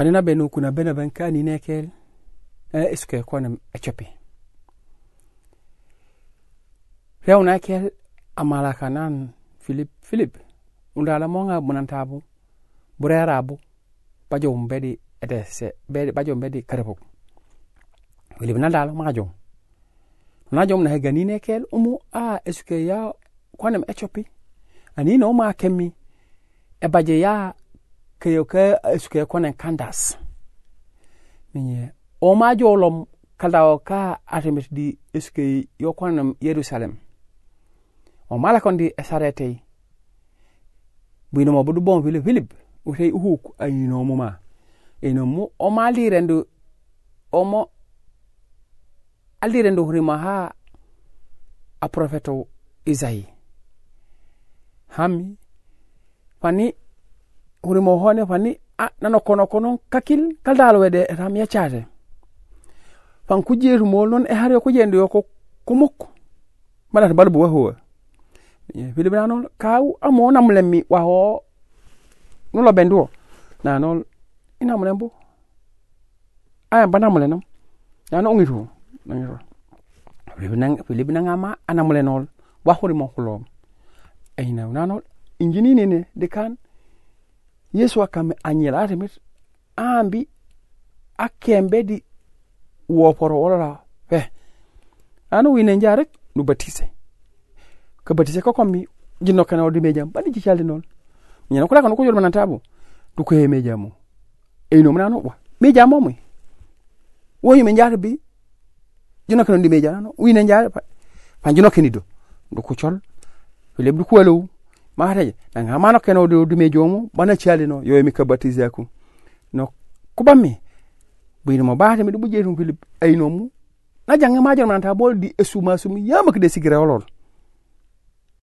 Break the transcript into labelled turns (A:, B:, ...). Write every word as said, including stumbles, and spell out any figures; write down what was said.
A: Panina benu kuna bena banka ni nekel eh iske kona echopi. Reo nekel amala kanan Philip Philip undala monga bunantabu burerabu bajo mbedi edese bedi bajo mbedi karebo. Philip nandalo majo. Najom na gani nekel umu a iske ya kona echopi. Ani no ma kemi e baje ya keyoke iske kona kandas. Minye o ma jolom kaldaw ka atemet di iske yo kona Yerusalem. O mala kondi esarete bino mo budu bon Philip Philip o sey huk ayino mo ma eno mo o mali rendu o mo aldi rendu hurima ha a profeto Isai hami fani hurimo hone fani a nano kono kono kakil kaldalo wede ram ya chate fan kujeru mo non e hare ko jende yo ko kumuk mala balbu wa ho Philip nanon kaw amo namlemi wa ho no lo bendu nanon ina mlembu ay banamle nam nanon ngitu ngitu Philip nang Philip nangama anamlenol wa hurimo kulom ayna nanon injini nene de kan Yesu akame anyela atemit ambi akembe di wo poro wala fe anu wine njarek nu batise ko batise ko kommi jinno kana odi mejam bani ci calde non nyana ko la ko jol manantabu du ko he mejamu e no manano wa mejamo moy wo yime njaata bi jinno kana odi mejano wine njaata fa jinno kenido du ko col Philip du ko walo ma hataje nanga mano kana odi mejomo bana calde no yo mi ka batise ko no ko bammi bino mo baate mi du buje tum Philip ay no mu na janga ma jol mananta bol di esuma sumi yama ko de sigira wolol